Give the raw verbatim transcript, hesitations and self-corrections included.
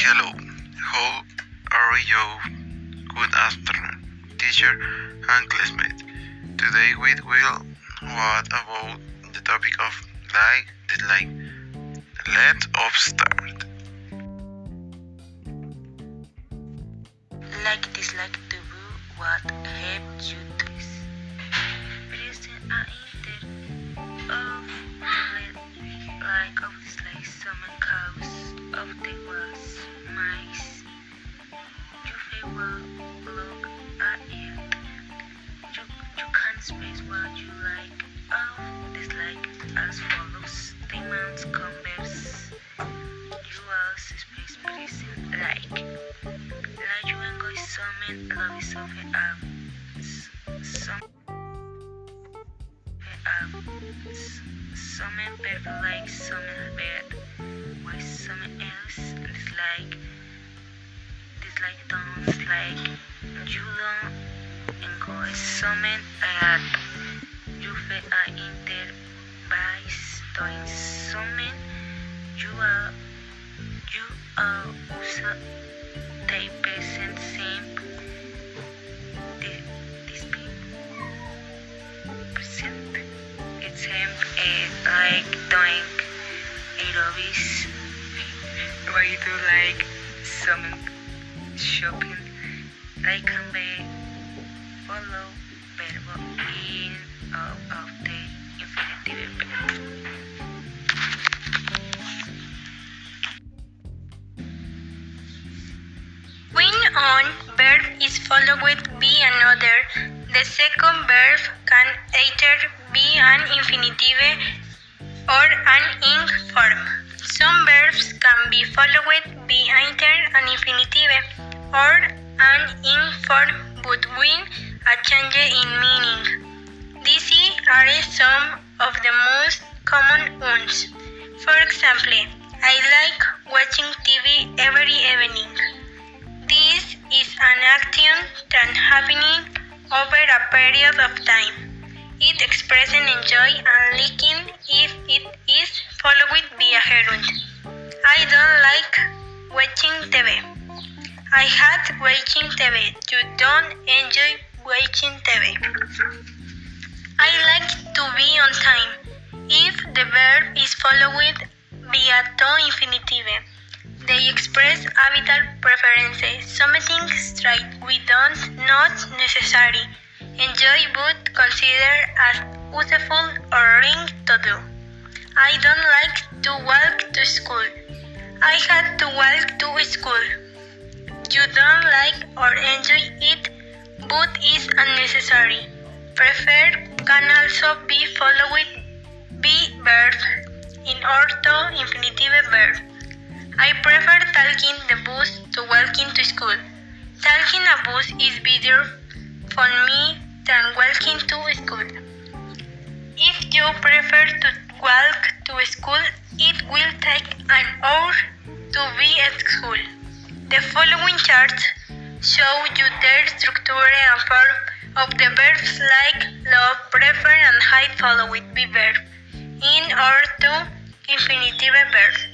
Hello, how are you? Good afternoon, teacher and classmate. Today we will what about the topic of like dislike. Let's start. Like dislike to do what help you do. Present a inter of like of dislike some cause of the was mice. You favor look at it. You you can express what you like of dislike as follows. The man's converse. You also express present like. Like you enjoy something, love is something up. Some something perfect like something bad. Why something else dislike dislike don't like you don't enjoy something at you feel a inter by doing something you are you are also they present same the this present it's him uh, like doing aerobics why you do like some shopping like can be follow verbo in of, of the infinitive verb. When one verb is followed with be another, the second verb can either be an infinitive or an ing form. Some verbs can be followed with be either an infinitive or an ing form but with a change in meaning. These are some of the most common ones. For example, I like watching T V every evening. This is an action that happening over a period of time. It expresses enjoy and liking if it is followed with be a gerund. I don't like watching T V. I hate watching T V. You don't enjoy watching T V. I like to be on time. If the verb is followed with be a to infinitive, they express habitual preferences, something straight we don't not necessary, enjoy but consider as useful or ring to do. I don't like to walk to school. I had to walk to school. You don't like or enjoy it but is unnecessary. Prefer can also be followed with be verb in order infinitive verb. I prefer taking the bus to walking to school. Taking a bus is better for me than walking to school. If you prefer to walk to school, it will take an hour to be at school. The following charts show you the structure and form of the verbs like love, prefer, and hate followed with be verb in order to infinitive verb.